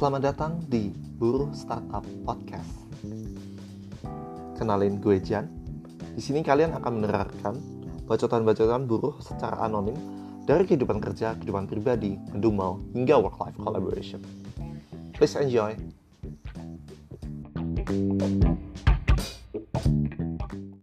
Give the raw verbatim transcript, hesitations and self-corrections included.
Selamat datang di Buruh Startup Podcast. Kenalin, gue Jan. Di sini kalian akan menerangkan bacotan-bacotan buruh secara anonim dari kehidupan kerja, kehidupan pribadi, mendumel, hingga work-life collaboration. Please enjoy.